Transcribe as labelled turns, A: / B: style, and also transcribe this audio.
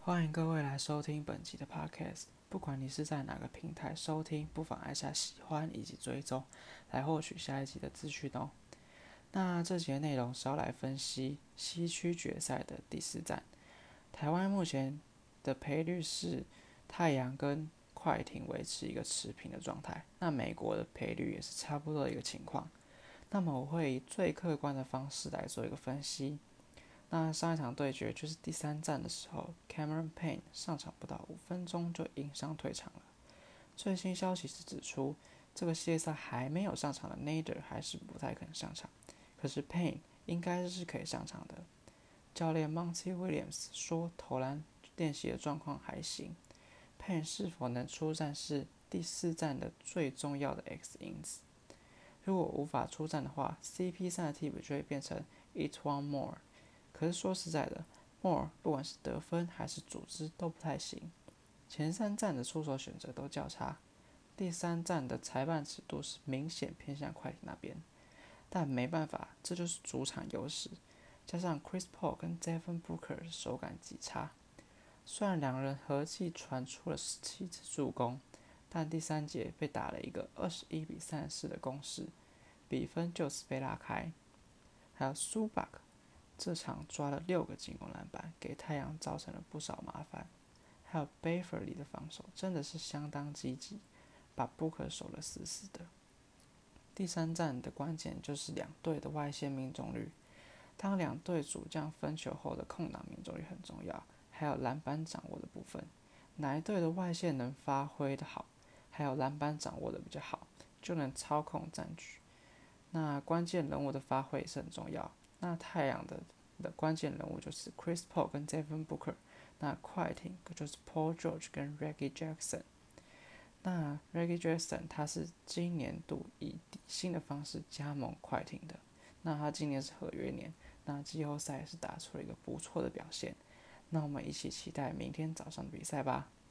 A: 欢迎各位来收听本集的 Podcast。不管你是在哪个平台收听，不妨按下喜欢以及追踪，来获取下一集的资讯哦。那这节内容是要来分析西区决赛的第四战。台湾目前的赔率是太阳跟快艇维持一个持平的状态，那美国的赔率也是差不多的一个情况。那么我会以最客观的方式来做一个分析。那上一场对决就是第三战的时候 ，Cameron Payne 上场不到5分钟就因伤退场了。最新消息是指出，这个系列赛还没有上场的 Nader 还是不太肯上场，可是 Payne 应该是可以上场的。教练 Monty Williams 说投篮练习的状况还行，Payne 是否能出战是第四战的最重要的 X 因子。如果无法出战的话 ，CP3 的替补就会变成 E'Twaun Moore。可是说实在的 ，Moore 不管是得分还是组织都不太行。前三战的出手选择都较差，第三战的裁判尺度是明显偏向快艇那边。但没办法，这就是主场优势。加上 Chris Paul 跟 Devin Booker 手感极差，虽然两人合计传出了17次助攻，但第三节被打了一个21-34的攻势，比分就此被拉开。还有 Zubac 这场抓了6个进攻篮板，给太阳造成了不少麻烦。还有 Beverly 的防守真的是相当积极，把 Booker 守得死死的。第三战的关键就是两队的外线命中率，当两队主将分球后的空档命中率很重要，还有篮板掌握的部分，哪一队的外线能发挥的好，还有篮板掌握的比较好，就能操控战局。那关键人物的发挥也是很重要。那太阳的关键人物就是 Chris Paul 跟 Devin Booker， 那快艇就是 Paul George 跟 Reggie Jackson。那 Reggie Jackson 他是今年度以底薪的方式加盟快艇的，那他今年是合约年，那季后赛也是打出了一个不错的表现。那我们一起期待明天早上的比赛吧。